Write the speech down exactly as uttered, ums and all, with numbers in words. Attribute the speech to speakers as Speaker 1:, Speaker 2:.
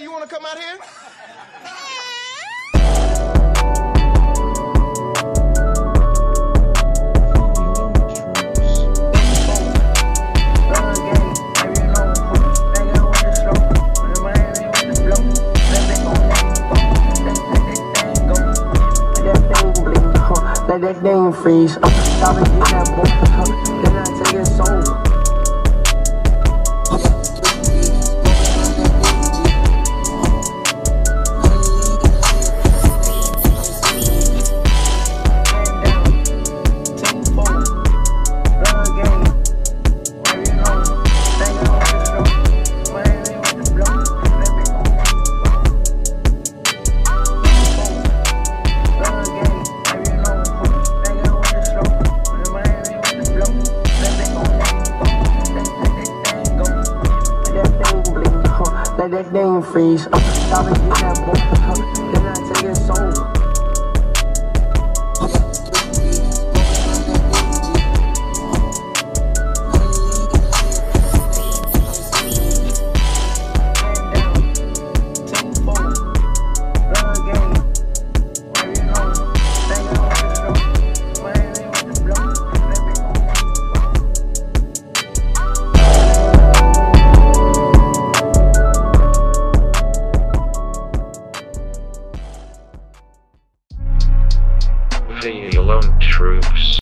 Speaker 1: Hey, you wanna come out here?
Speaker 2: Let that thing freeze. Uh, stop and get that boy. Uh, then I take his soul. Let that thing freeze. Uh, stop and get that boy. Uh, then I take his soul.